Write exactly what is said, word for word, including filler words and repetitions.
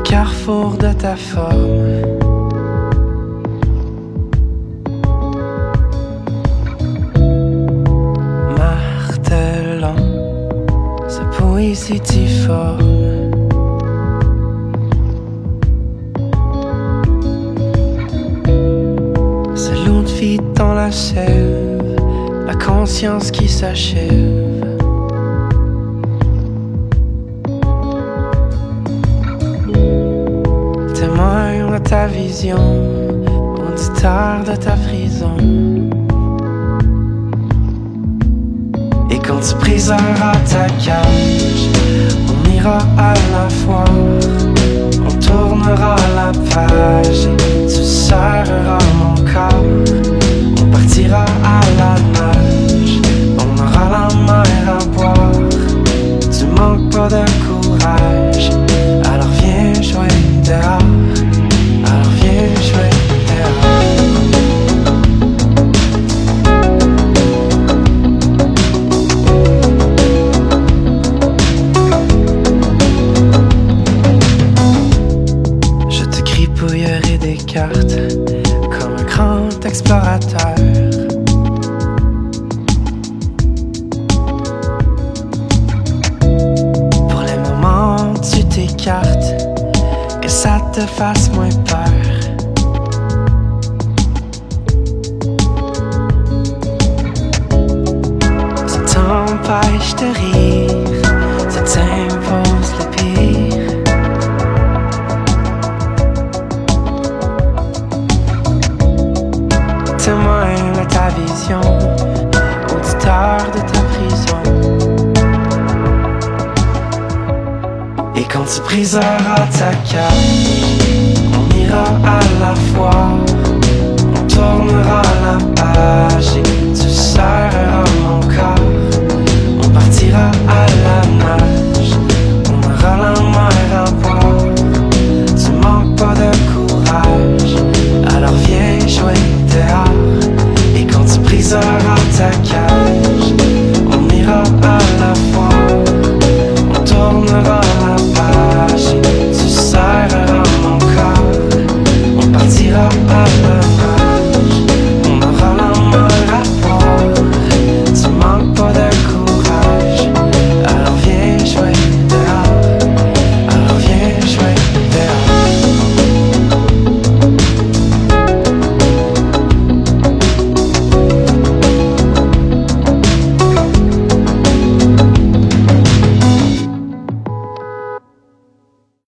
carrefour de ta forme. Martelant sa poésie difforme. C'est l'eau de vie dans la sève, la conscience qui s'achève. Témoin de ta vision, auditeur de ta prison. Et quand tu briseras ta cage, on ira à la foire, on tournera la page et tu serreras mon corps. On partira à la nage, on aura la mer à boire. Tu manques pas de courage, alors viens jouer dehors. Alors viens jouer dehors. Je te gribouillerai des cartes comme un grand explorateur. Pour les moments où tu t'écartes, que ça te fasse moins peur. Ça t'empêche de rire, ça t'impose le pire. Témoin de ta vision, auditeur de ta prison. Et quand tu briseras ta cage, on ira à la foire, on tournera la page et tu serreras mon corps. On partira à la nage, on aura la mer